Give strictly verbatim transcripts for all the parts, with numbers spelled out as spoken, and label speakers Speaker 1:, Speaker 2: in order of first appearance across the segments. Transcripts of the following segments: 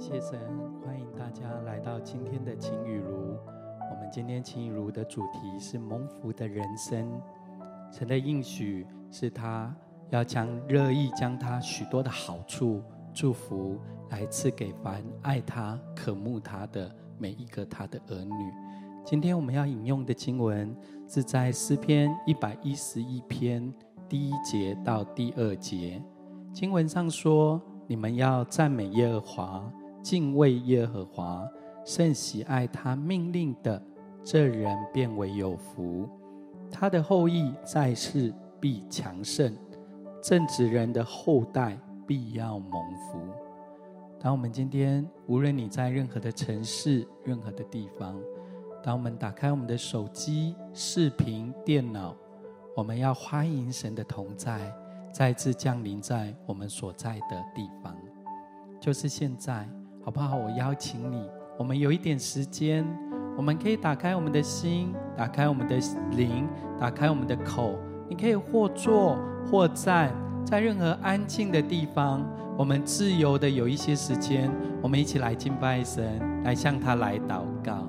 Speaker 1: 謝神，歡迎大家來到今天的晴雨如。我們今天晴雨如的主題是蒙福的人生。神的應許是他要將樂意將他許多的好處、祝福來賜給凡愛他、渴慕他的每一個他的兒女。今天我們要引用的經文是在詩篇一百一十一篇第一節到第二節。經文上說：你們要讚美耶和華，敬畏耶和華，甚喜愛他命令的，這人便為有福。他的後裔在世必強盛，正直人的後代必要蒙福。當我們今天無論你在任何的城市、任何的地方，當我們打開我們的手機、視頻、電腦，我們要歡迎神的同在再次降臨在我們所在的地方。就是現在，好不好？我邀請你，我們有一點時間，我們可以打開我們的心，打開我們的靈，打開我們的口。你可以或坐或站，在任何安靜的地方，我們自由的有一些時間，我們一起來敬拜神，來向他來禱告。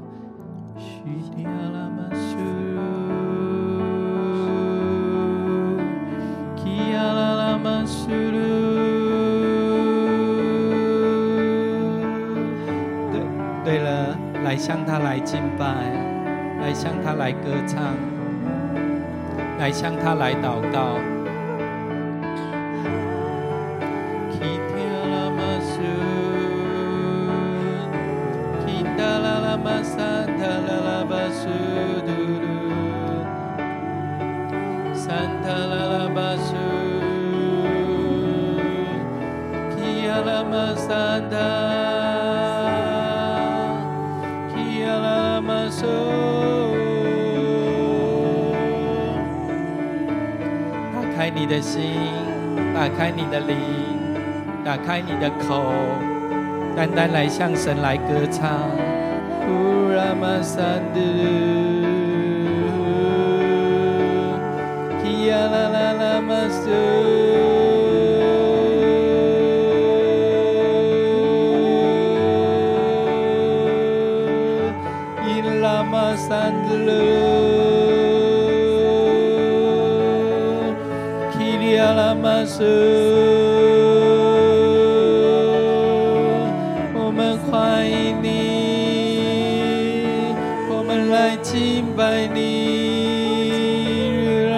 Speaker 1: 对对了，來向他來敬拜，來向他來歌唱，來向他來禱告。打開你的心，打開你的靈，打開你的口，單單來向神來歌唱。我們歡迎你，我們來敬拜你，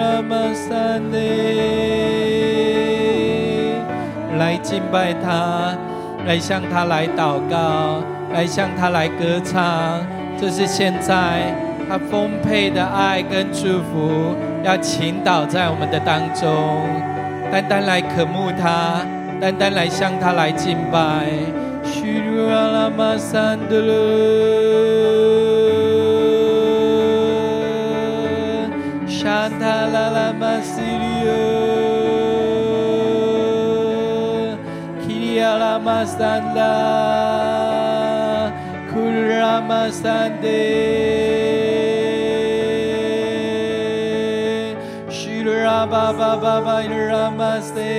Speaker 1: 來敬拜他，來向他來禱告，來向他來歌唱。這是現在他豐沛的愛跟祝福要傾倒在我們的當中，單單來渴慕他，單單來向他來敬拜。Ba ba ba ba namaste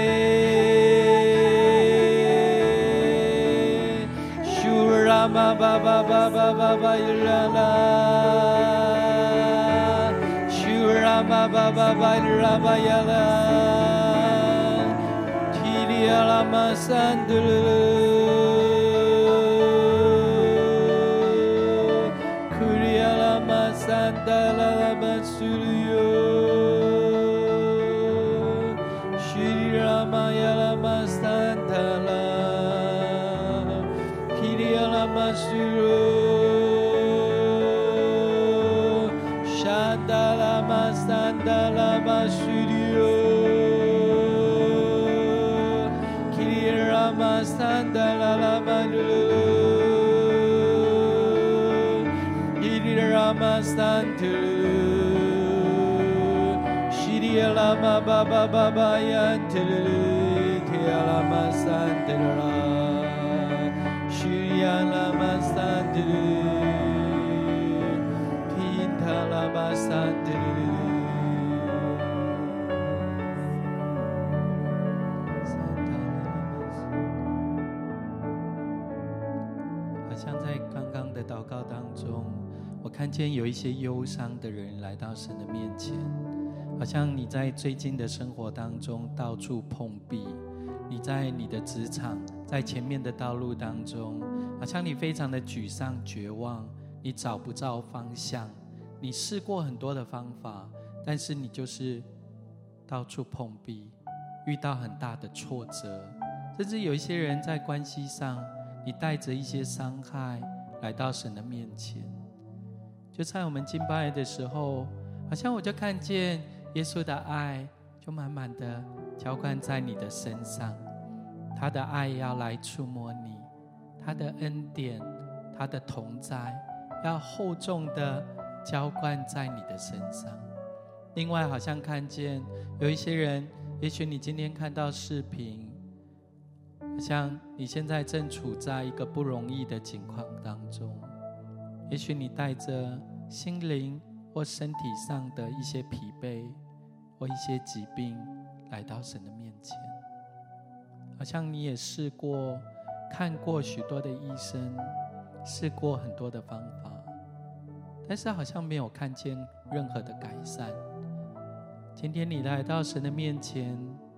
Speaker 1: Shurama ba ba ba ba ba ba yala Shurama ba ba ba rama yala Tiliala masandulu Kuriala masandala masuluyo Shandala Masandala Masudio Kira Masandala Manu Idira Masantu Shidiala Baba Baba Yantu Kiala Masandala Shiriala Masantu 看見有一些憂傷的人來到神的面前，好像你在最近的生活當中到處碰壁，你在你的職場，在前面的道路當中，好像你非常的沮喪絕望，你找不到方向，你試過很多的方法，但是你就是到處碰壁，遇到很大的挫折，甚至有一些人在關係上，你帶着一些傷害來到神的面前。就在我們敬拜的時候，好像我就看見耶穌的愛就滿滿的澆灌在你的身上，他的愛要來觸摸你，他的恩典，他的同在要厚重的澆灌在你的身上。另外好像看見有一些人，也許你今天看到視頻，好像你現在正處在一個不容易的境況當中，也許你帶着心靈或身體上的一些疲憊或一些疾病來到神的面前，好像你也試過看過許多的醫生，試過很多的方法，但是好像沒有看見任何的改善。今天你來到神的面前，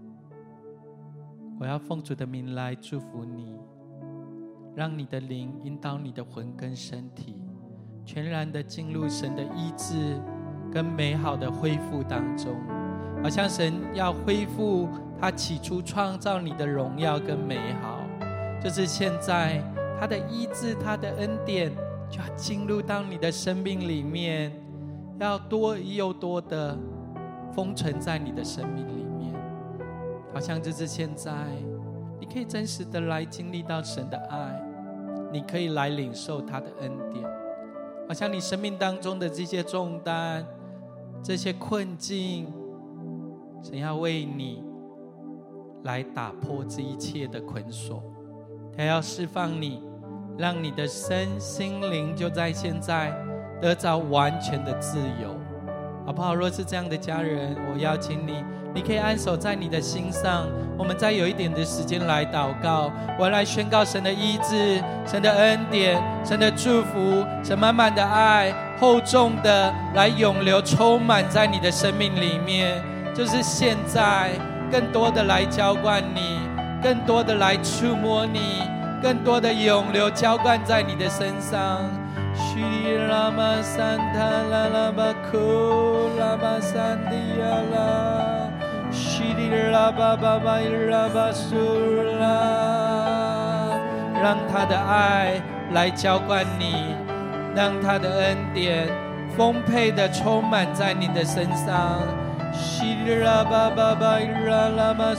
Speaker 1: 我要奉主的名來祝福你，讓你的靈引導你的魂跟身體，全然的進入神的醫治跟美好的恢復當中，好像神要恢復他起初創造你的榮耀跟美好，就是現在他的醫治，他的恩典就要進入到你的生命裡面，要多又多的封存在你的生命裡面，好像就是現在你可以真實的來經歷到神的愛，你可以來領受他的恩典，好像你生命當中的這些重擔，這些困境，神要為你來打破這一切的捆鎖，他要釋放你，讓你的身心靈就在現在得着完全的自由，好不好？若是這樣的家人，我邀請你，你可以按手在你的心上，我們再有一點的時間來禱告。我要來宣告神的醫治，神的恩典，神的祝福，神滿滿的愛，厚重的來湧流充滿在你的生命裡面，就是現在更多的來澆灌你，更多的來觸摸你，更多的湧流澆灌在你的身上。Shri Rama Santa La La Baku Rama Sandiala Shri Rama Baba Rama Sula， 讓他的愛來澆灌你，讓他的恩典豐沛的充滿在你的身上。Shri Rama Baba Rama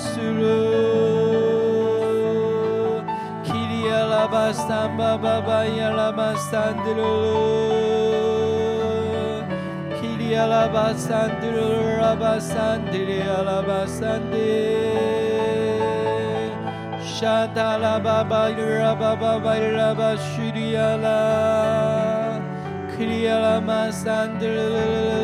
Speaker 1: Sula。Yalaba samba baba yalaba sandru Kili yalaba sandru raba sandri yalaba sandri Shatala baba raba baba raba shuri yala Kili yalama sandru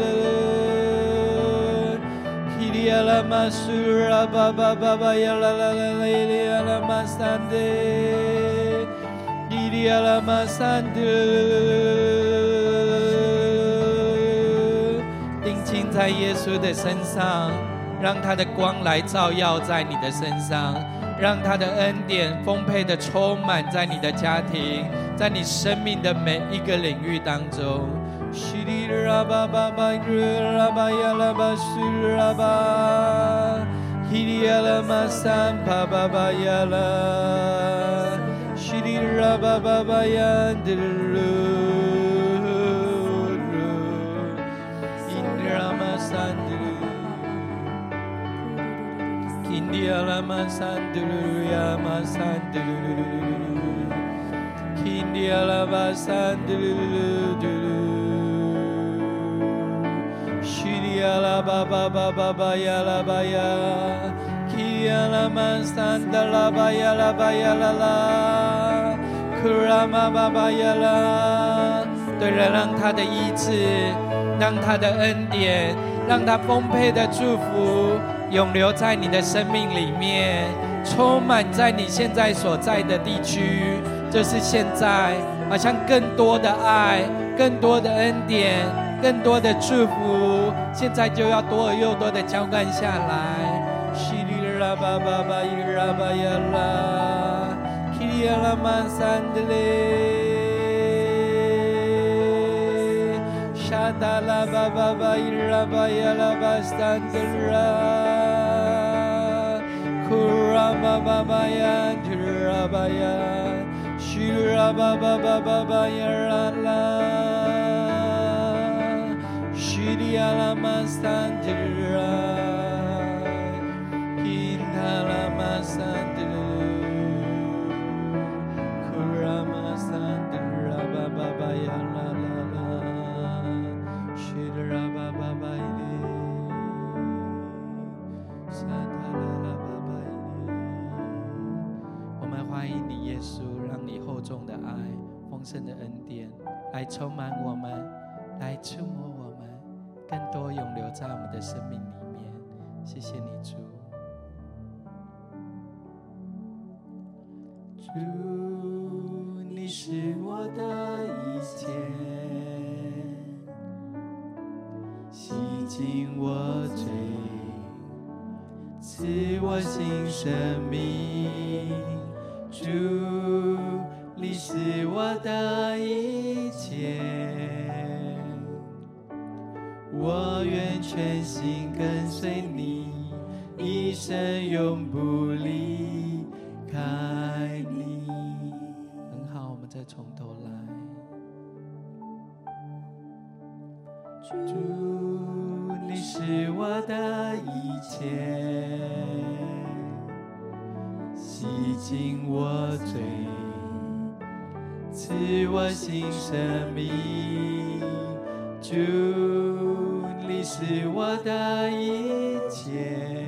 Speaker 1: Kili yalama sura baba baba yalala yalama sandri定睛在耶穌的身上，讓他的光來照耀在你的身上，讓他的恩典豐沛的充滿在你的家庭，在你生命的每一個領域當中。Shri Rabba Baba Yandru Indrama Sandru India Lama Sandru Yama Sandru India Lama Sandru Shri Rabba Baba Baba Yalabaya Yalama Sandala Bayala Bayala Kurama Baba Yala， 对了，讓他的醫治，讓他的恩典，讓他豐沛的祝福湧流在你的生命裡面，充滿在你現在所在的地區，就是現在，好像更多的愛， 更多的恩典，更多的祝福，現在就要多而又多的澆灌下來。西里拉巴巴巴伊拉巴呀拉，基里亞拉曼山德勒，沙達拉巴巴巴伊拉巴呀拉巴山德拉，庫拉巴巴巴呀提拉巴呀，西拉巴巴巴巴巴呀拉拉。Alama Sandra, in Alama Sandra, Kurama Sandra, Baba ya la la la, Shidra Baba Baile, Santa la Baba Baile。我們歡迎你，耶穌，讓你厚重的愛、豐盛的恩典來充滿我們，來觸摸我們。更多永留在我們的生命裡面，謝謝你，主。主，你是我的一切，洗淨我罪，賜我新生命。主，你是我的一切。我願全心跟隨你，一生永不離開你。很好，我們再從頭來。主，你是我的一切，洗淨我罪，賜我新生命。主，你是我的一切，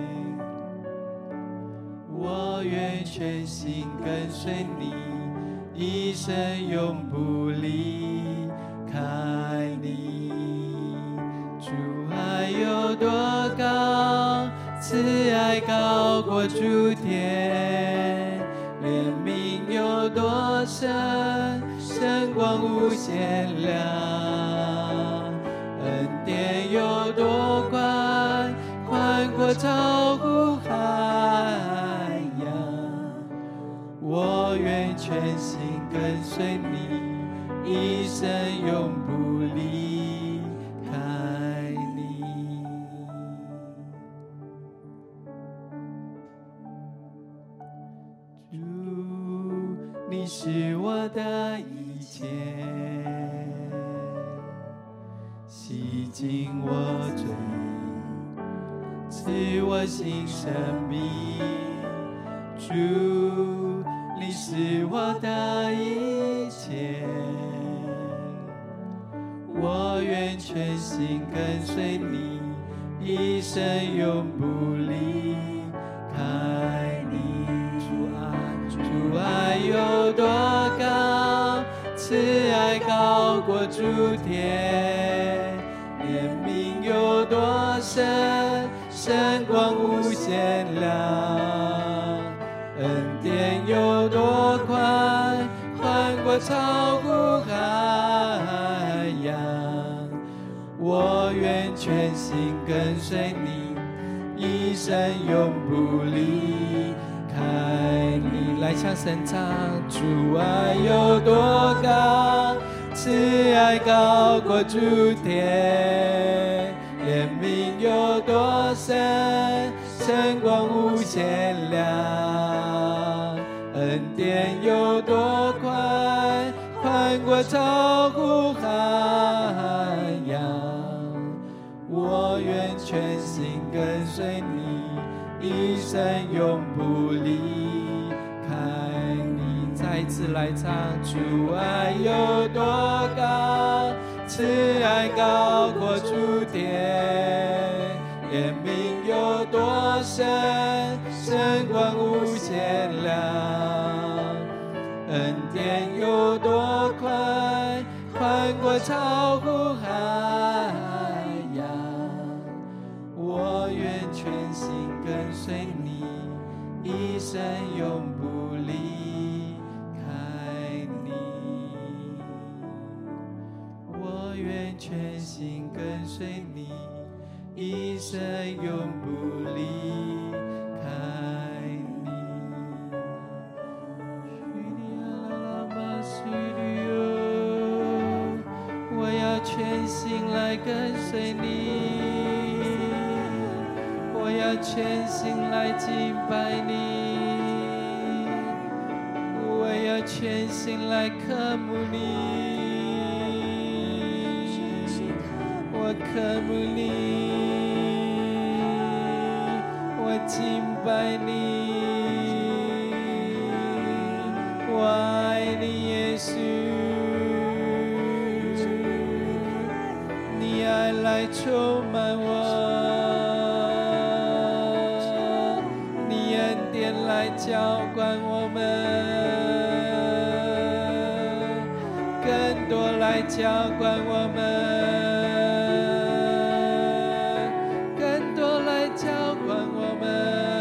Speaker 1: 我願全心跟隨你，一生永不離開你。主愛有多高，慈愛高過諸天，憐憫有多深，深廣無限量。恩典有多寬，寬闊超乎海洋。我願全心跟隨你，一生永不離開你。主，你是我的一切，洗淨我罪，賜我新生命。主，你是我的一切，我願全心跟隨你，一生永不離開你。主愛，主愛有多高，慈愛高過諸天，憐憫有多深，深廣無限量。恩典有多寬，寬闊超乎海洋。我願全心跟隨你，一生永不離開你。來向神唱，主愛有多高，慈愛高過諸天，憐憫有多深，深廣無限量。恩典有多寬，寬闊超乎海洋。我願全心跟隨你，一生永不離開你。再一次來唱，主愛有多高，慈愛高過諸天，憐憫有多深，深廣無限量。恩典有多寬，寬闊超乎海洋。我願全心跟隨你，一生永不離開你。 隨你，一生永不離開你。我要全心來跟隨你，我要全心來敬拜你，我要全心來渴慕你，我渴慕你，我敬拜你，我愛你，耶穌，你愛來充滿我。來澆灌我們，更多來澆灌我們，更多來澆灌我們，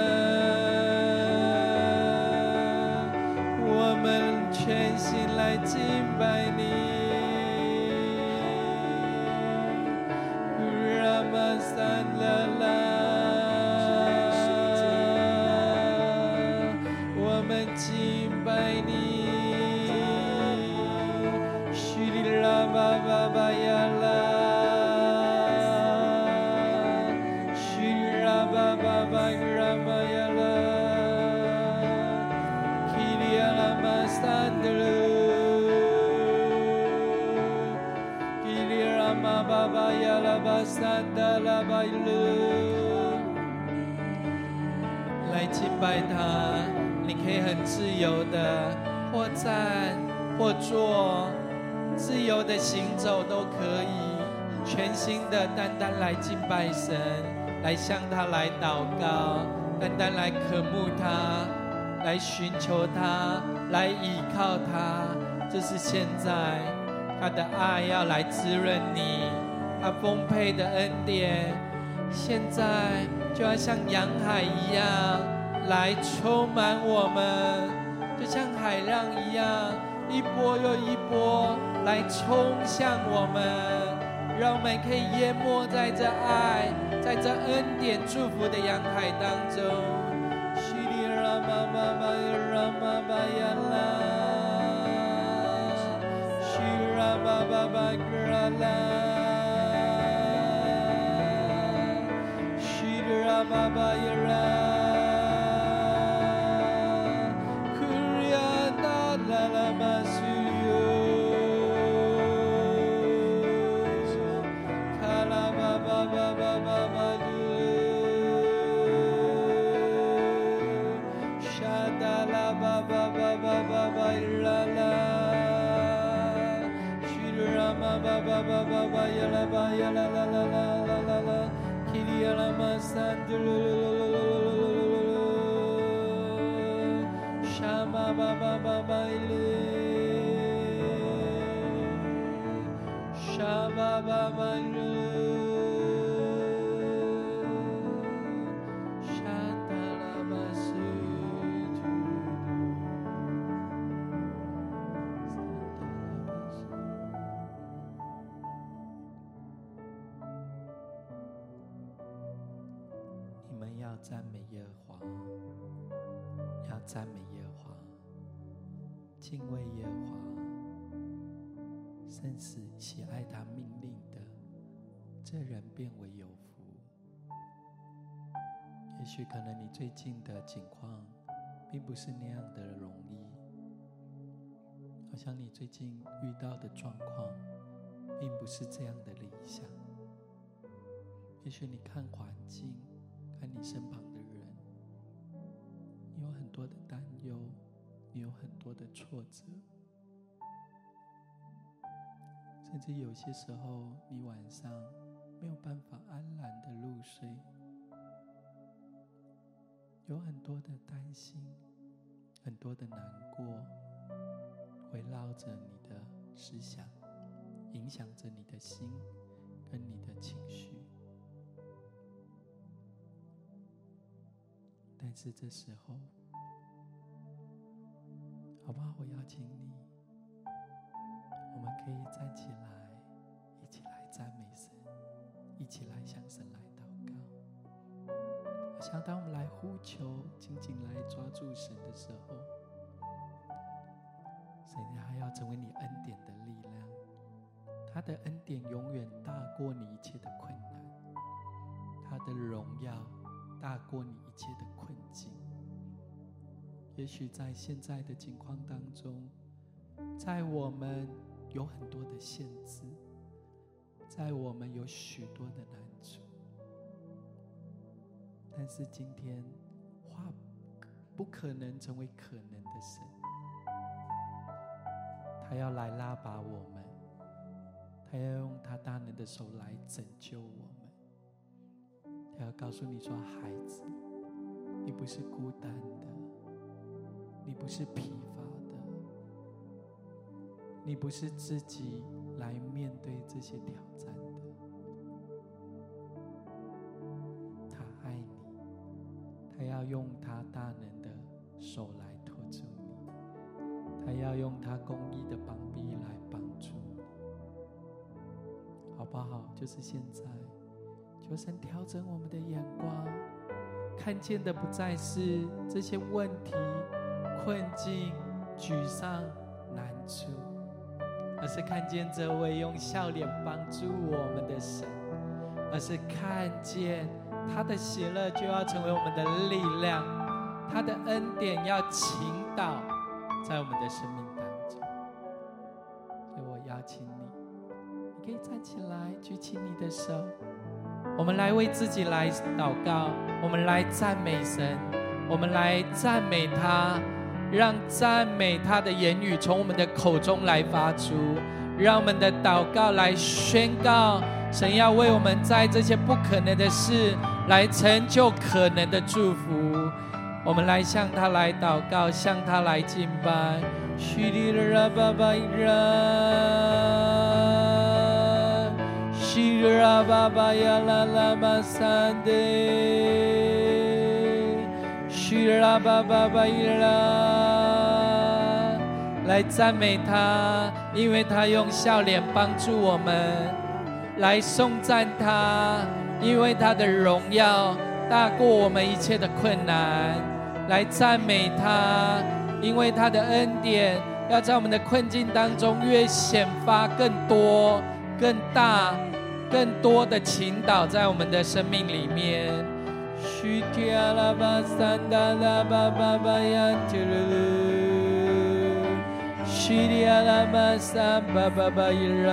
Speaker 1: 我們全心來敬拜你。拉瑪三拉拉。敬拜你，虛里拉巴巴巴呀啦，虛里拉巴巴巴拉瑪呀啦，基里亞拉瑪三德魯，基里拉瑪巴巴呀拉巴三德拉巴魯，來敬拜他。你可以很自由的或站或坐，自由的行走都可以，全心的單單來敬拜神，來向他來禱告，單單來渴慕他，來尋求他，來倚靠他。這是現在他的愛要來滋潤你，他豐沛的恩典現在就要像洋海一樣來充滿我們，就像海浪一樣，一波又一波來衝向我們，讓我們可以淹沒在這愛，在這恩典祝福的洋海當中。虛里拉瑪巴巴拉瑪巴呀啦，虛里拉瑪巴巴拉啦，虛里拉瑪巴呀啦。Ba ba ba ba ba ya la ba ya la la la la la la la kiri ya la ma san du shama ba ba ba ba ile shama ba ba ile shata la ba su要讚美耶和華，要讚美耶和華，敬畏耶和華，生死喜愛他命令的，這人便為有福。也許可能你最近的境況並不是那樣的容易，好像你最近遇到的狀況並不是這樣的理想。也許你看環境，看你身旁的人，你有很多的擔憂，你有很多的挫折，甚至有些時候你晚上沒有辦法安然的入睡，有很多的擔心，很多的難過圍繞着你的思想，影響着你的心跟你的情緒。但是這時候，好不好？我邀請你，我們可以站起來，一起來讚美神， 一起來向神來禱告。好像當我們來呼求，緊緊來抓住神的時候，神還要成為你恩典的力量。他的恩典永遠大過你一切的困難，他的榮耀大過你一切的困境。也許在現在的境況當中，在我們有很多的限制，在我們有許多的難處，但是今天話不可能成為可能的神，他要來拉拔我們，他要用他大能的手來拯救我們。他要告訴你說，孩子，你不是孤單的，你不是疲乏的，你不是自己來面對這些挑戰的。他愛你，他要用他大能的手來托住你，他要用他公義的膀臂來幫助你，好不好？就是現在，求神調整我們的眼光，看見的不再是這些問題、困境、沮喪、難處，而是看見這位用笑臉幫助我們的神，而是看見他的喜樂就要成為我們的力量，他的恩典要傾倒在我們的生命當中。所以我邀請你，你可以站起來，舉起你的手，我們來為自己來禱告，我們來讚美神，我們來讚美他，讓讚美他的言語從我們的口中來發出，讓我們的禱告來宣告神要為我們在這些不可能的事來成就可能的祝福。我們來向他來禱告，向他來敬拜。虛里拉巴巴伊拉，虚里拉巴巴呀啦啦巴三的，虚里拉巴巴巴伊拉，來讚美他，因為他用笑臉幫助我們；來頌讚他，因為他的榮耀大過我們一切的困難；來讚美他，因為他的恩典要在我們的困境當中越顯發更多、更大、更多的傾倒在我們的生命裡面。虛提阿拉巴三達拉巴巴巴呀提魯，虛提阿拉巴三巴巴巴伊拉，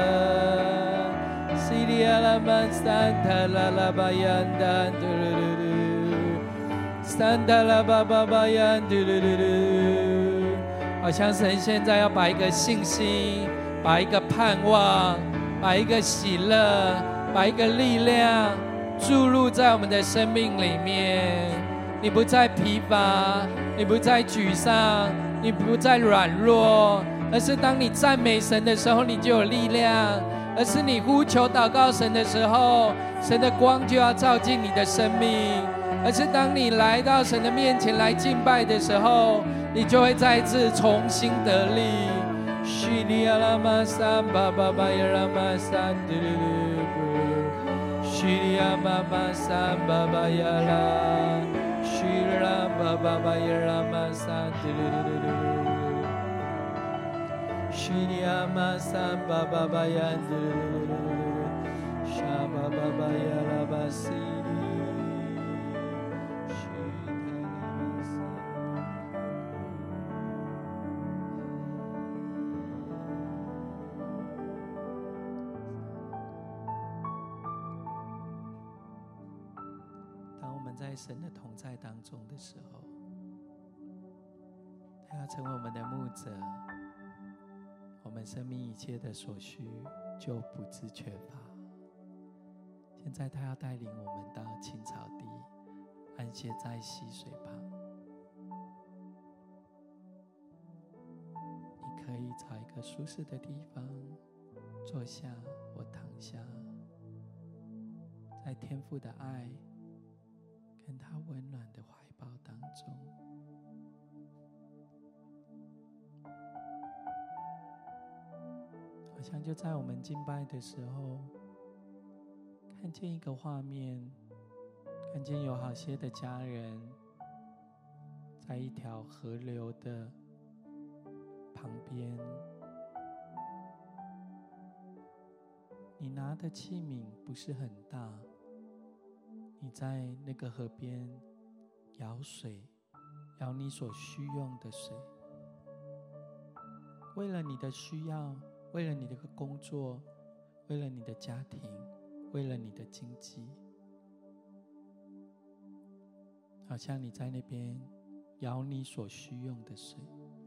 Speaker 1: 虛提阿拉巴三達拉拉巴呀達提魯。三达拉巴巴巴呀，嘟嘟嘟嘟，好像神現在要把一個信心、把一個盼望、把一個喜樂、把一個力量注入在我們的生命裡面。你不再疲乏，你不再沮喪，你不再軟弱，而是當你讚美神的時候，你就有力量；而是你呼求禱告神的時候，神的光就要照進你的生命。而是當你來到神的面前來敬拜的時候，你就會再次重新得力。虛里阿拉瑪三巴巴巴耶拉瑪三嘟嘟嘟，虛里阿瑪瑪三巴巴耶拉，虛里阿巴巴巴耶拉瑪三嘟嘟嘟嘟，虛里阿瑪三巴巴巴耶嘟嘟嘟嘟，沙巴巴巴耶拉巴西。在神的同在當中的時候，他要成為我們的牧者，我們生命一切的所需就不致缺乏。現在他要帶領我們到青草地，安歇在溪水旁。你可以找一個舒適的地方坐下或躺下，在天父的愛跟他溫暖的懷抱當中，好像就在我們敬拜的時候， 看見一個畫面，看見有好些的家人在一條河流的旁邊，你拿的器皿不是很大，你在那個河邊舀水，舀你所需用的水，為了你的需要，為了你的工作，為了你的家庭，為了你的經濟，好像你在那邊舀你所需用的水。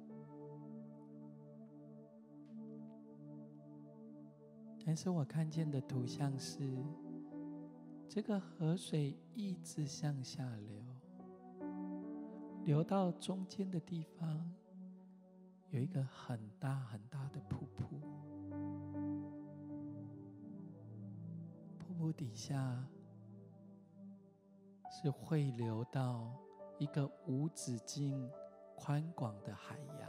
Speaker 1: 但是我看見的圖像是，這個河水一直向下流，流到中間的地方，有一個很大很大的瀑布。瀑布底下是匯流到一個無止境寬廣的海洋。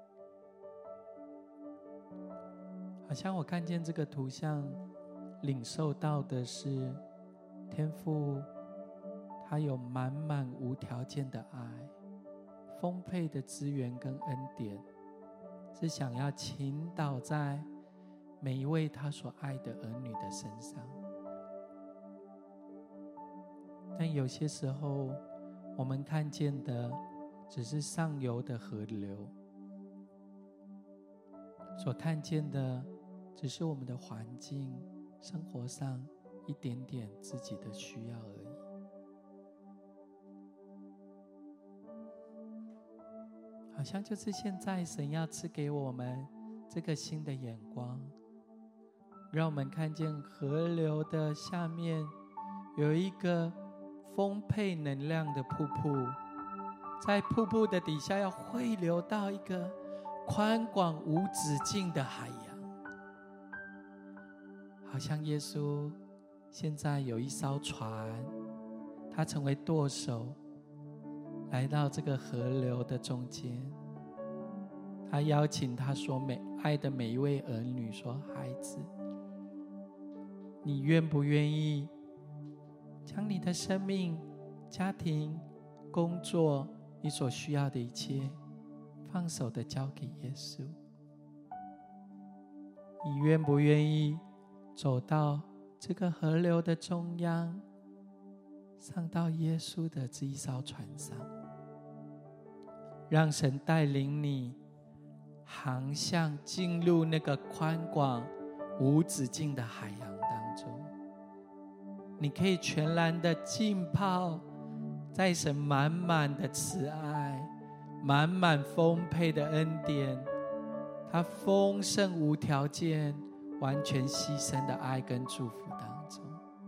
Speaker 1: 好像我看見這個圖像，領受到的是天父，他有滿滿無條件的愛，豐沛的資源跟恩典，是想要傾倒在每一位他所愛的兒女的身上。但有些時候，我們看見的只是上游的河流，所看見的只是我們的環境、生活上一點點自己的需要而已。好像就是現在神要賜給我們這個新的眼光，讓我們看見河流的下面有一個豐沛能量的瀑布，在瀑布的底下要匯流到一個寬廣無止境的海洋。好像耶穌現在有一艘船，他成為舵手，來到這個河流的中間，他邀請他所美愛的每一位兒女說：孩子，你願不願意將你的生命、家庭、工作，你所需要的一切，放手的交給耶穌？你願不願意走到這個河流的中央，上到耶穌的這一艘船上，讓神帶領你航向進入那個寬廣無止境的海洋當中？你可以全然的浸泡在神滿滿的慈愛、滿滿豐沛的恩典，他豐盛無條件、完全犧牲的愛跟祝福當中。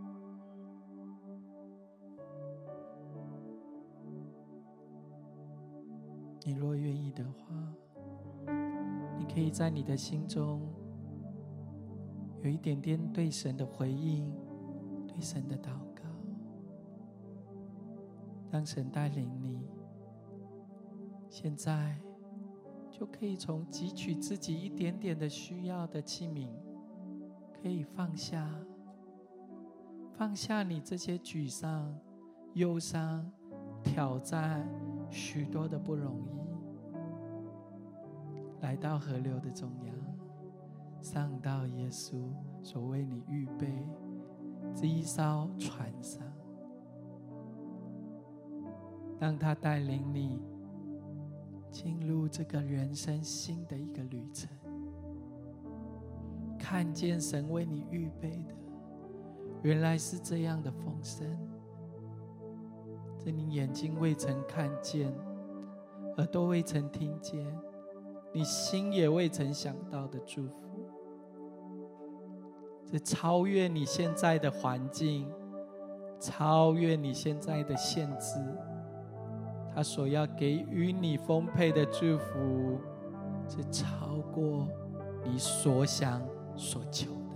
Speaker 1: 你若願意的話，你可以在你的心中有一點點對神的回應，對神的禱告，讓神帶領你，現在就可以從汲取自己一點點的需要的器皿，可以放下，放下你這些沮喪、憂傷、挑戰，許多的不容易，來到河流的中央，上到耶穌所為你預備這一艘船上，讓他帶領你進入這個人生新的一個旅程，看見神為你預備的原來是這樣的豐盛，這你眼睛未曾看見，耳朵未曾聽見，你心也未曾想到的祝福，這超越你現在的環境，超越你現在的限制，他所要給予你豐沛的祝福，是超過你所想所求的。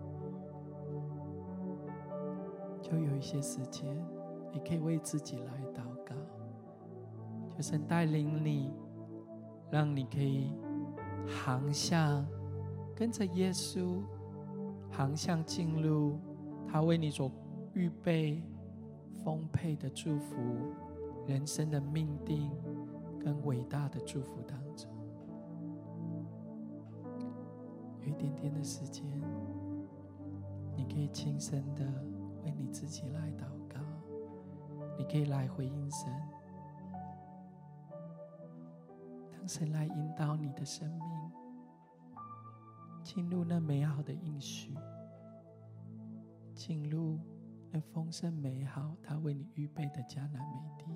Speaker 1: 就有一些時間，你可以為自己來禱告，求神帶領你，讓你可以航向，跟着耶穌航向進入他為你所預備豐沛的祝福，人生的命定跟偉大的祝福當中。有一點點的時間，你可以輕聲的為你自己來禱告，你可以來回應神，讓神來引導你的生命進入那美好的應許，進入那豐盛美好他為你預備的迦南美地。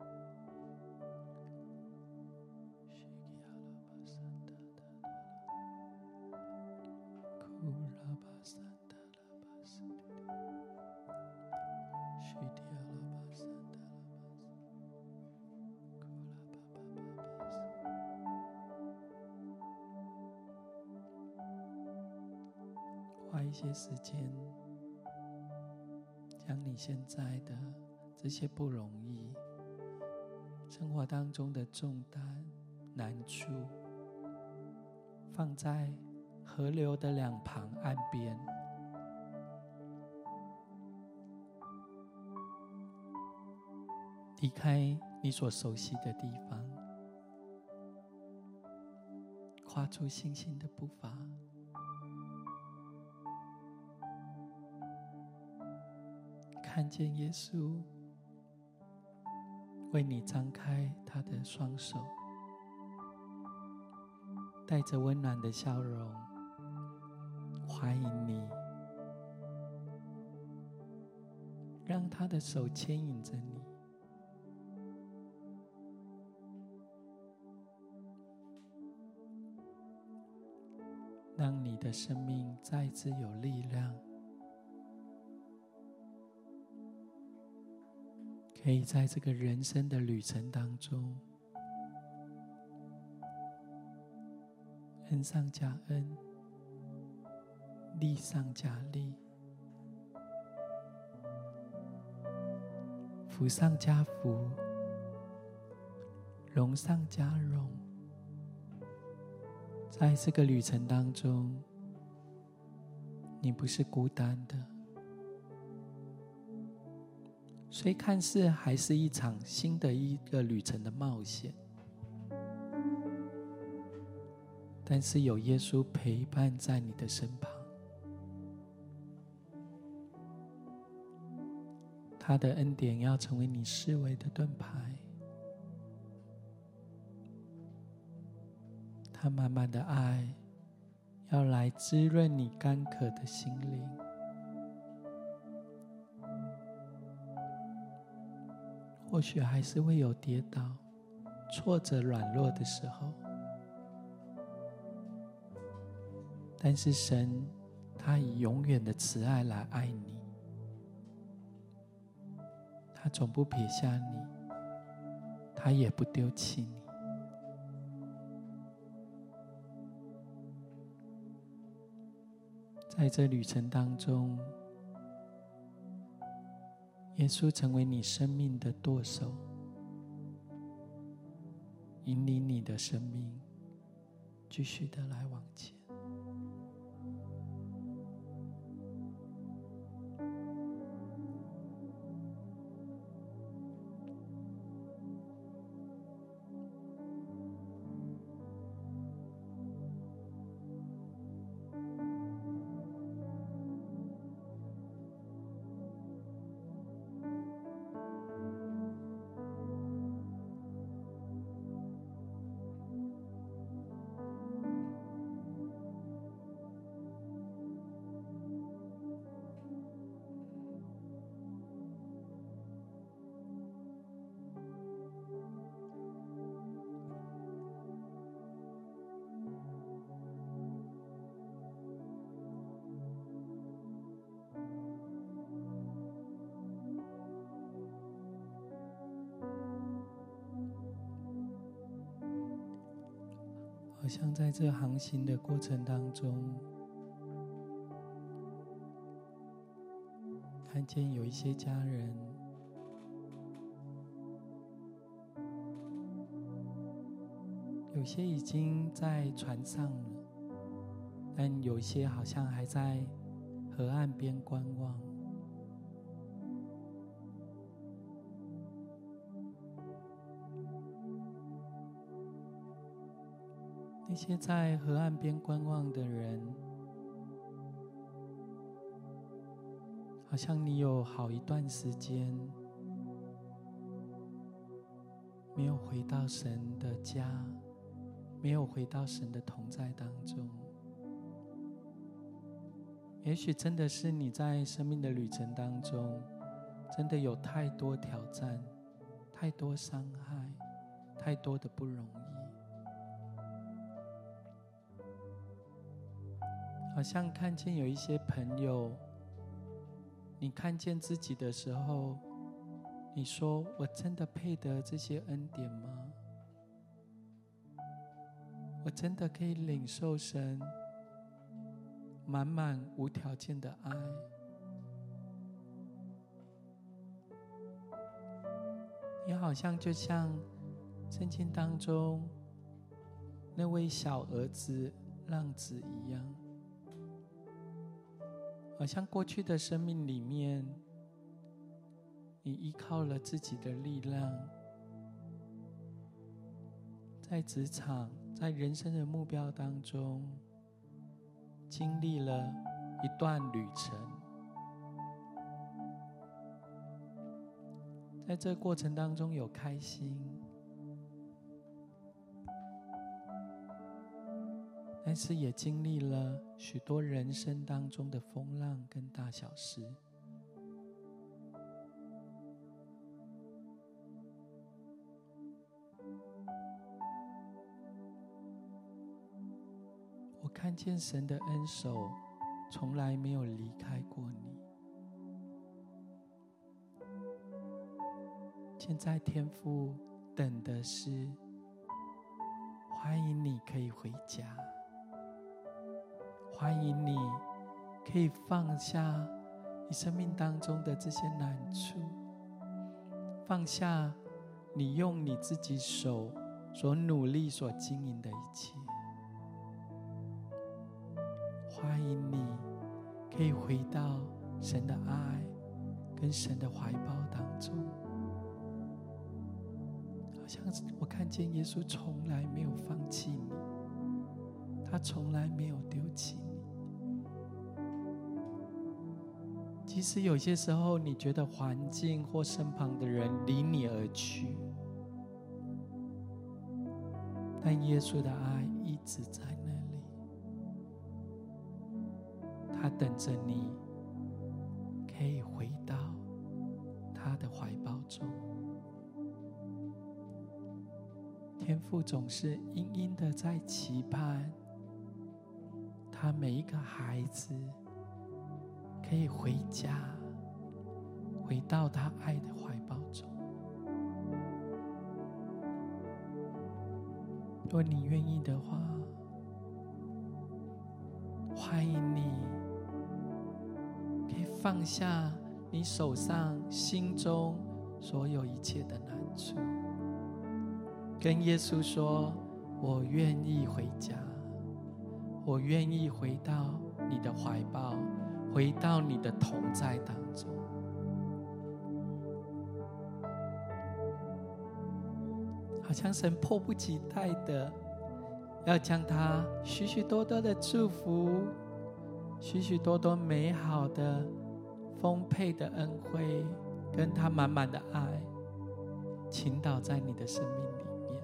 Speaker 1: 花一些時間，將你現在的這些不容易、生活當中的重擔、難處，放在河流的兩旁岸邊，離開你所熟悉的地方，跨出信心的步伐，看見耶穌為你張開他的雙手，帶着溫暖的笑容歡迎你，讓他的手牽引着你，讓你的生命再次有力量，可以在這個人生的旅程當中，恩上加恩，利上加利，福上加福，榮上加榮。在這個旅程當中，你不是孤單的。雖看似還是一場新的一個旅程的冒險，但是有耶穌陪伴在你的身旁，他的恩典要成為你四圍的盾牌，他滿滿的愛要來滋潤你乾渴的心靈。或許還是會有跌倒、挫折、軟弱的時候，但是神他以永遠的慈愛來愛你，他總不撇下你，他也不丟棄你。在這旅程當中，耶穌成為你生命的舵手，引領你的生命繼續的來往前。好像在這航行的過程當中，看見有一些家人，有些已經在船上了，但有些好像還在河岸邊觀望。 那些在河岸邊觀望的人，好像你有好一段時間沒有回到神的家，沒有回到神的同在當中。也許真的是你在生命的旅程當中，真的有太多挑戰，太多傷害，太多的不容易。好像看見有一些朋友，你看見自己的時候，你說：我真的配得這些恩典嗎？我真的可以領受神滿滿無條件的愛？你好像就像聖經當中那位小兒子浪子一樣，好像過去的生命裡面，你依靠了自己的力量，在職場，在人生的目標當中，經歷了一段旅程。在這個過程當中有開心，但是也經歷了許多人生當中的風浪跟大小事。我看見神的恩手從來沒有離開過你。現在天父等的是歡迎你可以回家，歡迎你可以放下你生命當中的這些難處，放下你用你自己手所努力所經營的一切。歡迎你可以回到神的愛跟神的懷抱當中。好像我看見耶穌從來沒有放棄你，他從來沒有丟棄你。即使有些時候你覺得環境或身旁的人離你而去，但耶穌的愛一直在那裡，他等着你可以回到他的懷抱中。天父總是殷殷的在期盼他每一個孩子可以回家，回到他愛的懷抱中。如果你願意的話，歡迎你可以放下你手上心中所有一切的難處，跟耶穌說：我願意回家，我願意回到你的懷抱，回到你的同在當中。好像神迫不及待的要將他許許多多的祝福，許許多多美好的豐沛的恩惠，跟他滿滿的愛傾倒在你的生命裡。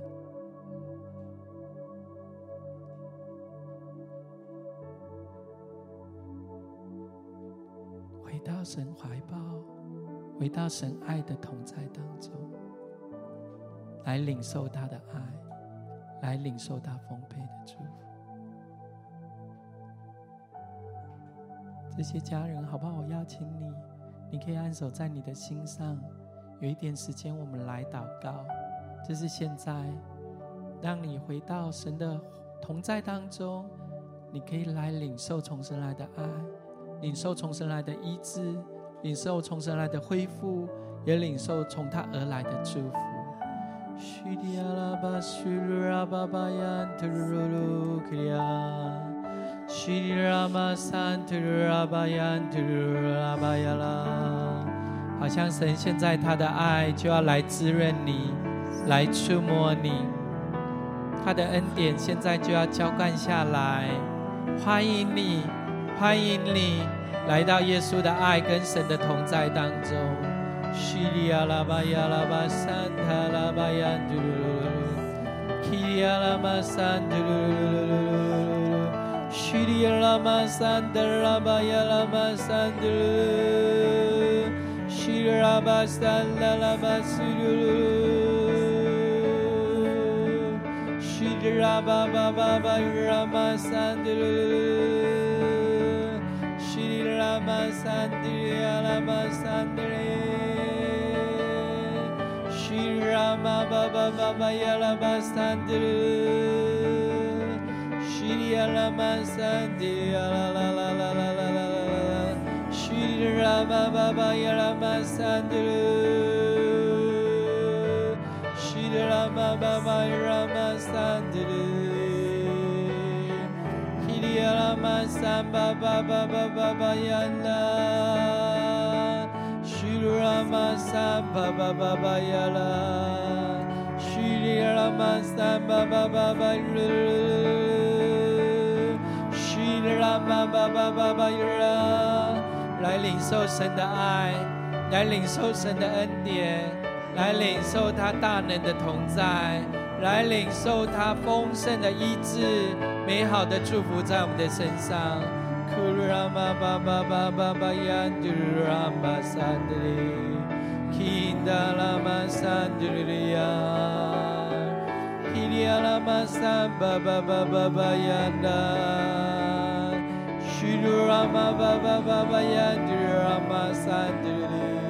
Speaker 1: 回到神懷抱，回到神愛的同在當中，來領受他的愛，來領受他豐沛的祝福。這些家人好不好？我邀請你，你可以按手在你的心上，有一點時間我們來禱告。這是現在讓你回到神的同在當中，你可以來領受從神來的愛，領受從神來的醫治，領受從神來的恢復，也領受從他而來的祝福。好像神現在他的愛就要來滋潤你，來觸摸你， 他的恩典現在就要澆灌下來。歡迎你，歡迎你來到耶穌的愛跟神的同在當中。西里亞拉巴亞拉巴山塔拉巴亞嘟嚕嚕嚕，基里亞拉巴山嘟嚕嚕嚕，西里亞拉巴山塔拉巴亞拉巴山嘟嚕嚕，西里亞拉巴山拉拉巴嘟嚕嚕，西里拉巴巴巴巴拉巴山嘟嚕嚕，西里拉巴山嘟亞拉巴山嘟嚕。Rama Baba Baba Yalaba Sandru Shri Yalama Sandru La La La La La La La Shri Rama Baba Yalama Sandru Shri Rama Baba Yalama Sandru Shri Yalama Samba Baba Baba Yalama Rama Samba Baba Bayala Shri Rama Samba Baba Bayala Shri Rama Baba Bayala 來領受神的愛，來領受神的恩典，來領受他大能的同在，來領受他豐盛的醫治，美好的祝福在我們的身上。Kurama Baba Baba Bayandu Rama Sandri Kinda Lama Sandriya Kiria Lama Samba Baba Baba Yanda Shurama Baba Baba Yandu Rama Sandri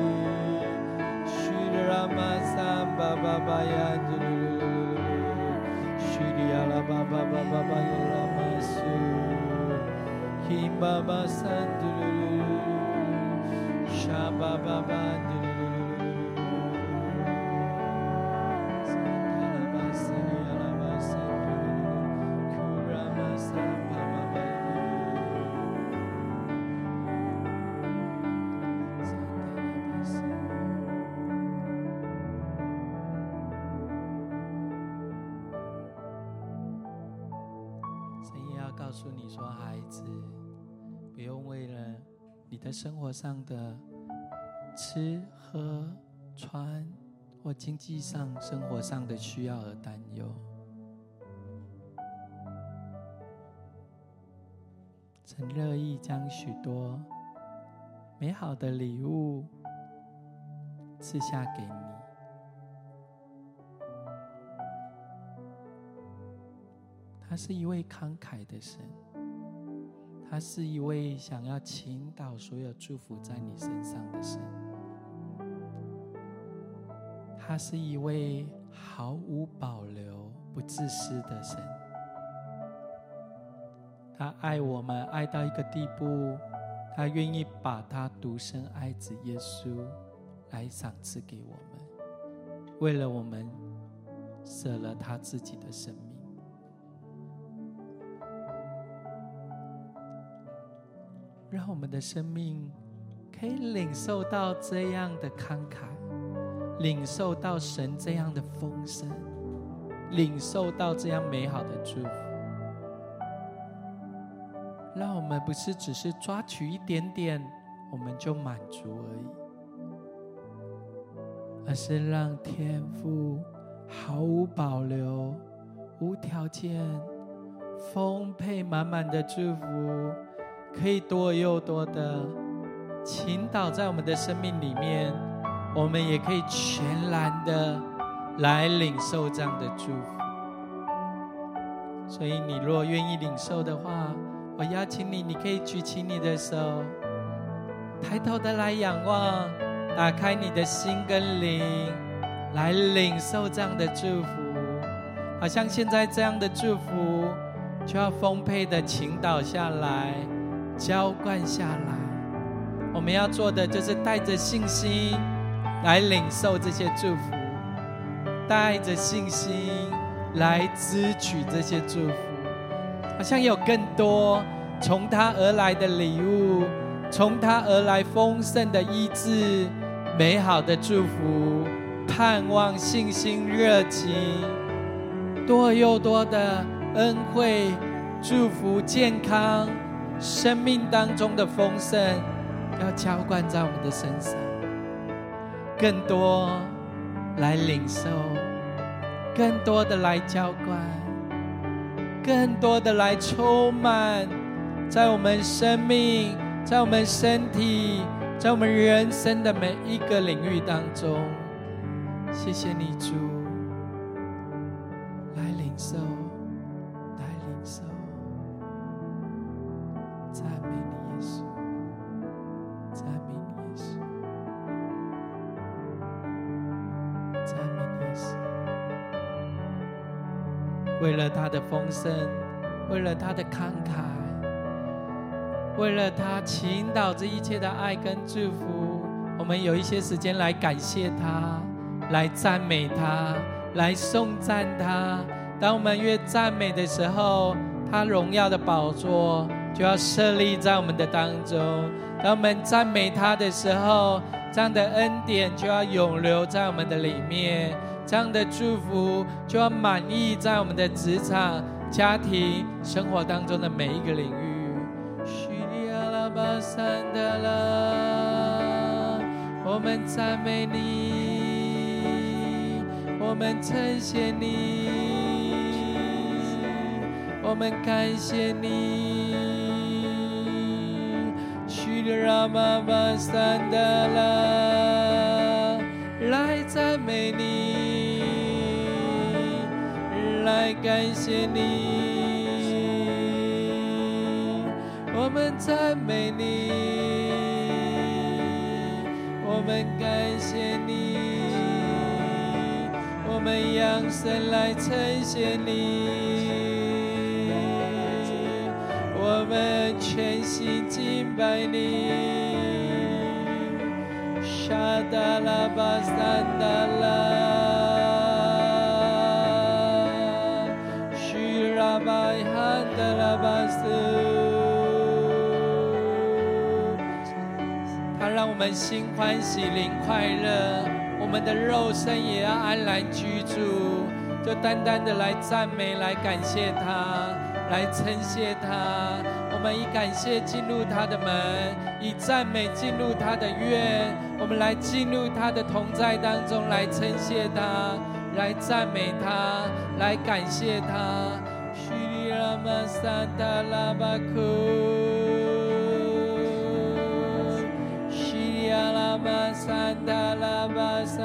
Speaker 1: Shurama Samba Baba Yandu Shiria Baba Baba Baba Su Kim Baba Sandru Shaba Baba Sandalaba Sandalaba Sandru Kurama Samba Baba Sandalaba Sandru 神也要告訴你說，孩子，不用為了你的生活上的吃喝穿或經濟上生活上的需要而擔憂。神樂意將許多美好的禮物賜下給你。他是一位慷慨的神，他是一位想要傾倒所有祝福在你身上的神，他是一位毫無保留、不自私的神。他愛我們愛到一個地步，他願意把他獨生愛子耶穌來賞賜給我們，為了我們捨了他自己的生命。讓我們的生命可以領受到這樣的慷慨，領受到神這樣的豐盛，領受到這樣美好的祝福。讓我們不是只是抓取一點點我們就滿足而已，而是讓天父毫無保留、無條件、豐沛滿滿的祝福，可以多又多的傾倒在我們的生命裡面，我們也可以全然的來領受這樣的祝福。所以你若願意領受的話，我邀請你，你可以舉起你的手，抬頭的來仰望，打開你的心跟靈，來領受這樣的祝福。好像現在這樣的祝福就要豐沛的傾倒下來，澆灌下來。我們要做的就是帶着信心來領受這些祝福，帶着信心來支取這些祝福。好像有更多從他而來的禮物，從他而來豐盛的醫治，美好的祝福，盼望、信心、熱情， 多又多的恩惠、祝福、健康，生命當中的豐盛，要澆灌在我們的身上，更多來領受，更多的來澆灌，更多的來充滿在我們生命，在我們身體，在我們人生的每一個領域當中。謝謝你，主，來領受，來領受，讚美你，耶穌，讚美你，耶穌，讚美你，耶穌。為了他的豐盛，為了他的慷慨，為了他傾倒這一切的愛跟祝福，我們有一些時間來感謝他，來讚美他，來頌讚他。當我們越讚美的時候，他榮耀的寶座就要設立在我們的當中。當我們讚美他的時候，這樣的恩典就要永留在我們的裡面，這樣的祝福就要滿溢在我們的職場、家庭、生活當中的每一個領域。我們讚美你，我們稱謝你，我們感謝你。許拉瑪巴桑德拉，來讚美你，來感謝你，我們讚美你，我們感謝你，我們揚聲來稱謝你，我們全心敬拜你。沙達拉巴桑達拉，許拉巴罕德拉巴斯。他讓我們心歡喜，靈快樂，我們的肉身也要安然居住。就單單的來讚美，來感謝他，來稱謝他。我們以感謝進入他的門，以讚美進入他的院。我們來進入他的同在當中，來稱謝他，來讚美他，來感謝他。許里拉瑪薩達拉巴庫，許里拉瑪薩達拉巴薩，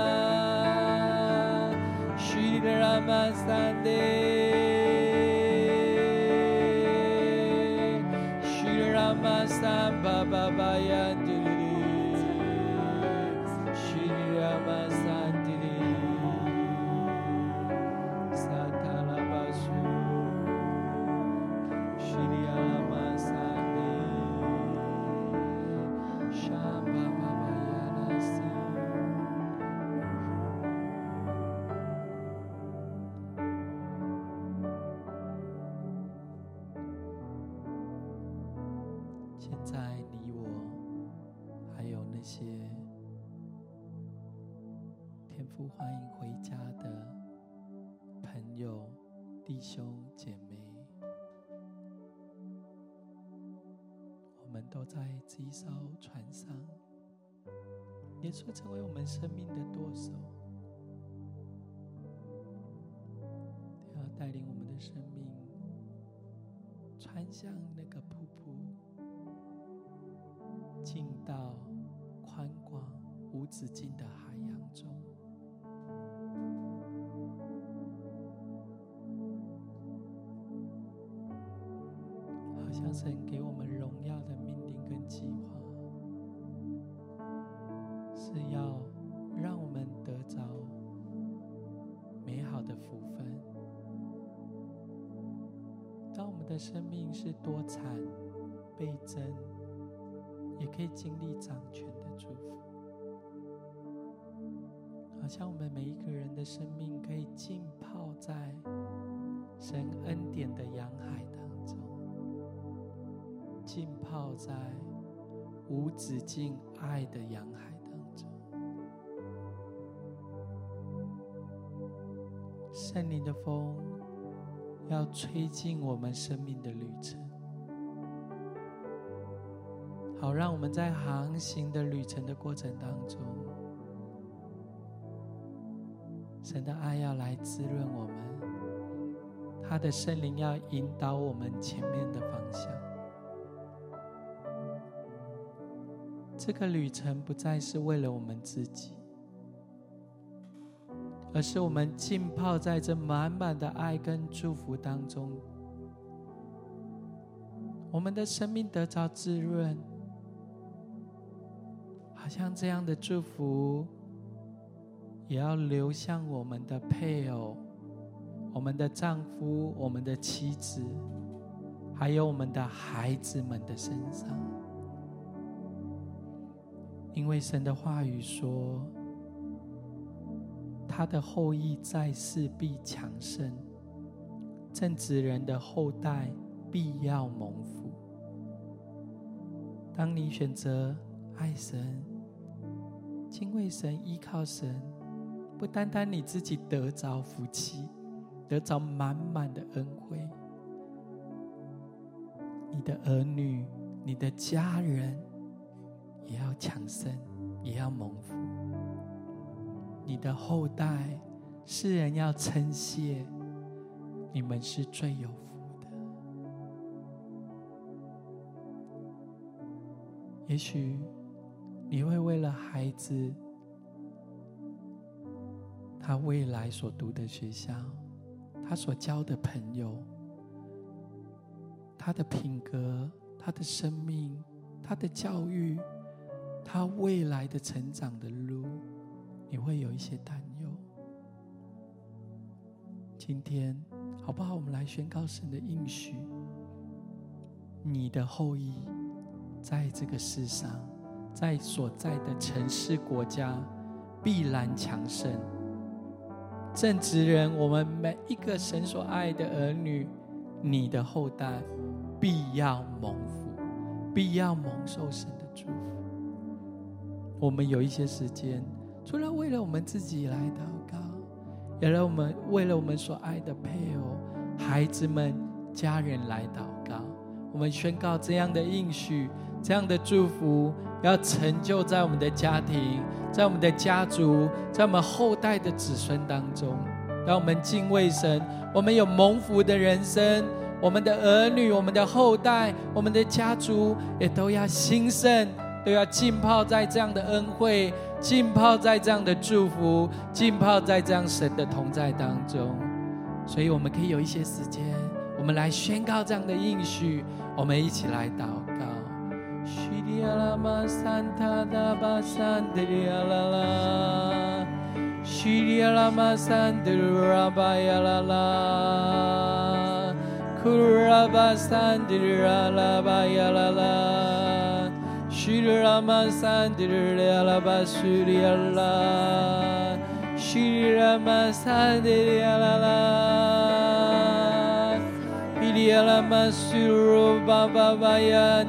Speaker 1: 許里拉瑪薩德。Samba Baba Yandiri, Shri Rama Santiri, Satala Basu, Shri Rama Santiri, Shamba Baba Yanasi.現在你我還有那些天父歡迎回家的朋友、弟兄姐妹，我們都在這一艘船上。耶穌成為我們生命的舵手，要帶領我們的生命穿向那個瀑布，進到寬廣無止境的海洋中。好像神給我們榮耀的命令跟計劃，是要讓我們得着美好的福分。當我們的生命是多產倍增，也可以經歷掌權的祝福，好像我們每一個人的生命可以浸泡在神恩典的洋海當中，浸泡在無止境愛的洋海當中。 聖靈的風要吹進我們生命的旅程，好讓我們在航行的旅程的過程當中，神的愛要來滋潤我們，他的聖靈要引導我們前面的方向。這個旅程不再是為了我們自己，而是我們浸泡在這滿滿的愛跟祝福當中，我們的生命得着滋潤，好像這樣的祝福也要流向我們的配偶、我們的丈夫、我們的妻子，還有我們的孩子們的身上。因為神的話語說，他的後裔在世必強盛，正直人的後代必要蒙福。當你選擇愛神、敬畏神、依靠神，不單單你自己得着福氣，得着滿滿的恩惠，你的兒女、你的家人也要強盛，也要蒙福。你的後代，世人要稱謝，你們是最有福的。也許你會為了孩子，他未來所讀的學校，他所交的朋友，他的品格，他的生命，他的教育，他未來的成长的路，你会有一些擔憂。今天好不好，我們來宣告神的應許，你的後裔在這個世上，在所在的城市國家必然強盛。正直人，我們每一個神所愛的兒女，你的後代必要蒙福，必要蒙受神的祝福。我們有一些時間，除了為了我們自己來禱告，也讓我們為了我們所愛的配偶、孩子們、家人來禱告。我們宣告這樣的應許，這樣的祝福要成就在我們的家庭，在我們的家族，在我們後代的子孫當中。讓我們敬畏神，我們有蒙福的人生，我們的兒女、我們的後代、我們的家族也都要興盛，都要浸泡在這樣的恩惠，浸泡在這樣的祝福，浸泡在這樣神的同在當中。所以我們可以有一些時間，我們來宣告這樣的應許，我們一起來禱告。Shri Rama Sandiri Alaba Shri Allah Shri Rama Sandiri Alala Shri Rama Suru Baba Baya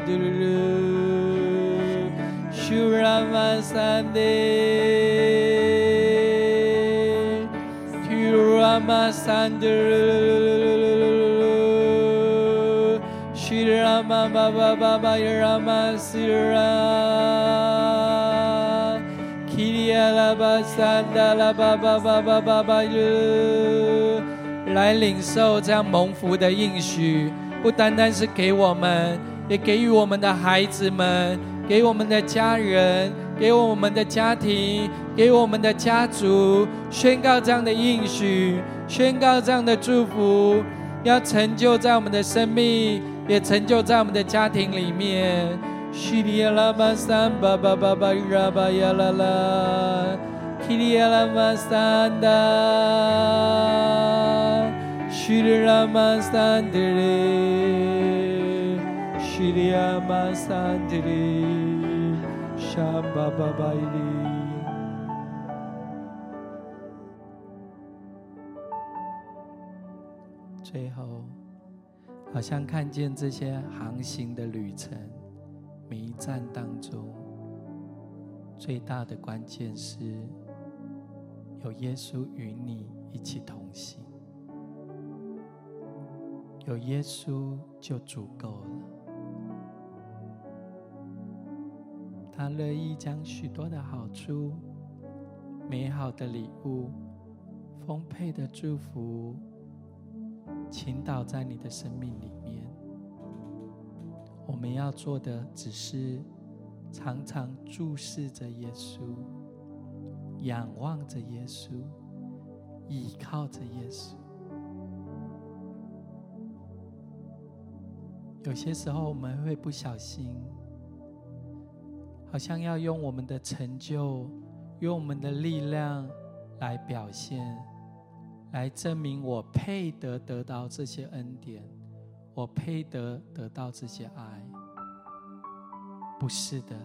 Speaker 1: Duru Shri Rama Sandiri Shri Rama Sandiri Shri Rama Baba Baba Rama Sira Kiriya Laba Sanda Laba Baba Baba Baba 來領受這樣蒙福的應許，不單單是給我們，也給予我們的孩子們，給我們的家人，給我們的家庭，給我們的家族，宣告這樣的應許，宣告這樣的祝福，要成就在我們的生命，也成就在我們的家庭裡面。Shri Rama Samba Baba Baba Yalala Shri Rama Sanda Shri Rama Sandiri Shri Rama Sandiri Shamba Baba Ili。最後，好像看見這些航行的旅程，每一站當中，最大的關鍵是有耶穌與你一起同行，有耶穌就足夠了。他樂意將許多的好處、美好的禮物、豐沛的祝福傾倒在你的生命裡面。我們要做的只是常常注視着耶穌，仰望着耶穌，倚靠着耶穌。有些時候我們會不小心，好像要用我們的成就，用我們的力量來表現，來證明我配得得到這些恩典，我配得得到這些愛。不是的，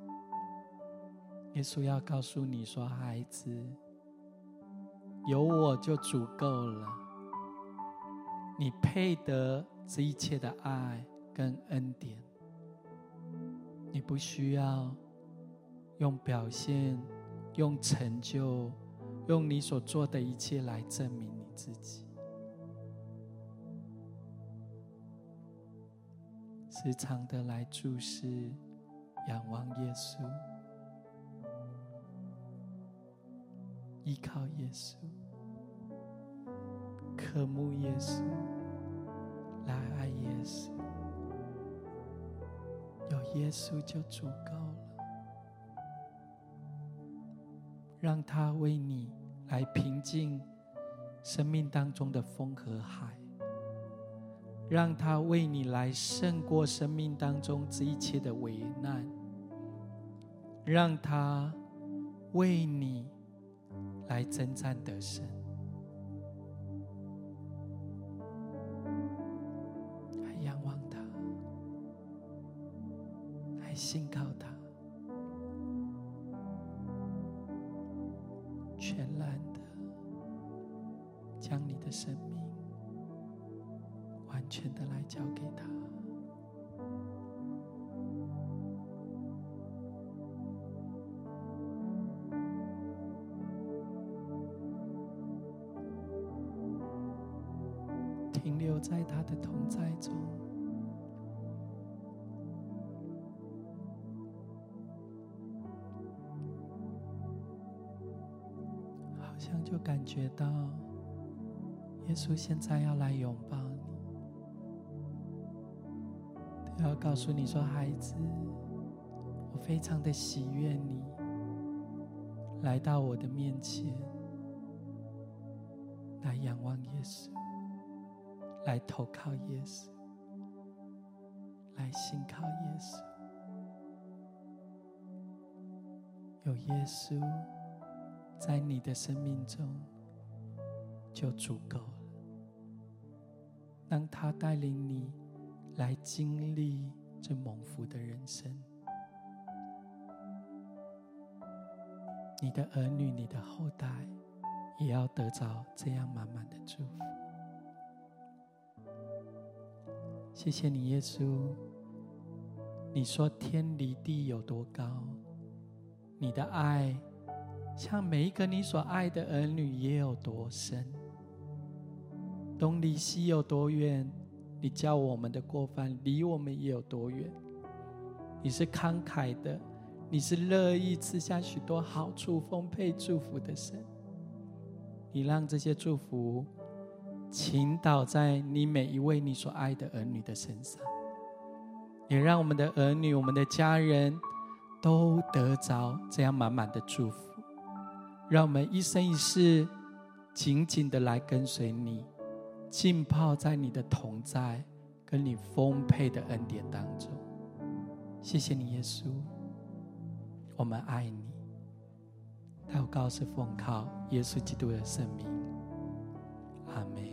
Speaker 1: 耶穌要告訴你說，孩子，有我就足夠了，你配得這一切的愛跟恩典，你不需要用表現、用成就、用你所做的一切來證明你自己。時常的來注視、仰望耶穌，依靠耶穌，渴慕耶穌，來愛耶穌。有耶穌就足夠了，讓他為你來平靜生命當中的風和海，讓他為你來勝過生命當中這一切的危難，讓他為你來征戰得勝。來仰望他，來信靠他，全然的将你的生命完全的來交給他。停留在他的同在中，好像就感覺到耶穌現在要來擁抱你，他要告訴你說，孩子，我非常的喜悅你來到我的面前，來仰望耶穌，來投靠耶穌，來信靠耶穌。有耶穌在你的生命中就足夠了，讓他帶領你來經歷這蒙福的人生。你的兒女、你的後代也要得着這樣滿滿的祝福。謝謝你，耶穌。你說天離地有多高，你的愛像每一個你所愛的兒女也有多深。東離西有多遠，你叫我們的過犯離我們也有多遠。你是慷慨的，你是樂意賜下許多好處、豐沛祝福的神。你讓這些祝福傾倒在你每一位你所愛的兒女的身上，也讓我們的兒女、我們的家人都得着這樣滿滿的祝福。讓我們一生一世緊緊的來跟隨你，浸泡在你的同在跟你豐沛的恩典當中。謝謝你，耶穌，我們愛你。禱告是奉靠耶穌基督的聖名，阿們。